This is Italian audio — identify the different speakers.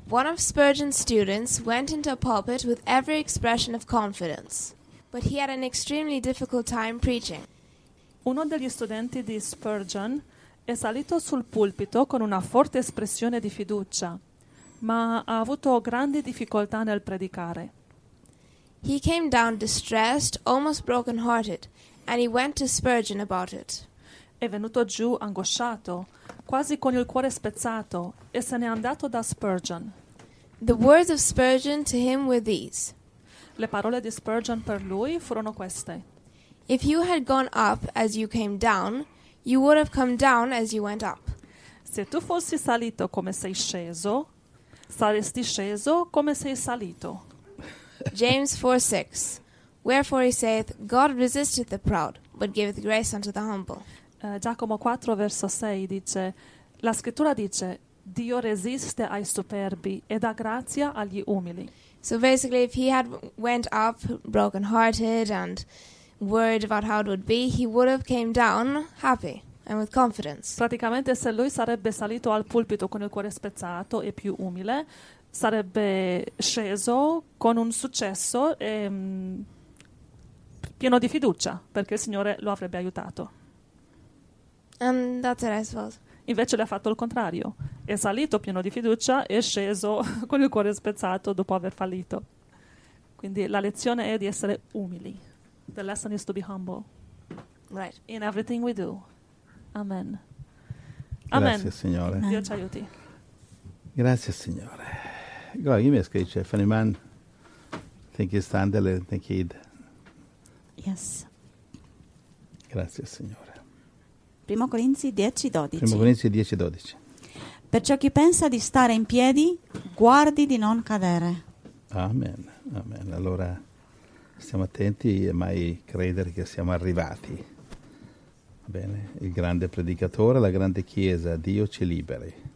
Speaker 1: One of Spurgeon's students went into a pulpit with every expression of confidence, but he had an extremely difficult time preaching.
Speaker 2: Uno degli studenti di Spurgeon è salito sul pulpito con una forte espressione di fiducia, ma ha avuto grandi difficoltà nel predicare.
Speaker 1: He came down distressed, almost broken-hearted, and he went to Spurgeon about it.
Speaker 2: È venuto giù angosciato, quasi con il cuore spezzato, e se n'è andato da Spurgeon.
Speaker 1: The words of Spurgeon to him were these:
Speaker 2: Le parole di Spurgeon per lui furono queste:
Speaker 1: If you had gone up as you came down, you would have come down as you went up.
Speaker 2: Se tu fossi salito come sei sceso, saresti sceso come sei salito.
Speaker 1: James 4:6. Wherefore he saith, God resisteth the proud, but giveth grace unto the humble.
Speaker 2: Giacomo 4 verso 6 dice, la scrittura dice, Dio resiste ai superbi e dà grazia agli umili.
Speaker 1: So basically, if he had went up broken-hearted and worried about how it would be, he would have came down happy and with confidence.
Speaker 2: Praticamente se lui sarebbe salito al pulpito con il cuore spezzato e più umile, sarebbe sceso con un successo e pieno di fiducia, perché il Signore lo avrebbe aiutato.
Speaker 1: And that's it, I suppose.
Speaker 2: Invece le ha fatto il contrario. È salito pieno di fiducia e è sceso con il cuore spezzato dopo aver fallito. Quindi la lezione è di essere umili. The lesson is to be humble.
Speaker 1: Right.
Speaker 2: In everything we do. Amen.
Speaker 3: Grazie,
Speaker 2: Amen.
Speaker 3: Signore.
Speaker 2: Dio ci aiuti.
Speaker 3: Grazie, Signore. Glad you miss Gretchen. If any man think he's standing, think he'd.
Speaker 4: Yes.
Speaker 3: Grazie, Signore.
Speaker 4: 1 Corinzi 10:12.
Speaker 3: 1 Corinzi 10:12.
Speaker 4: Perciò chi pensa di stare in piedi, guardi di non cadere.
Speaker 3: Amen. Amen. Allora stiamo attenti e mai credere che siamo arrivati. Bene, il grande predicatore, la grande chiesa, Dio ci liberi.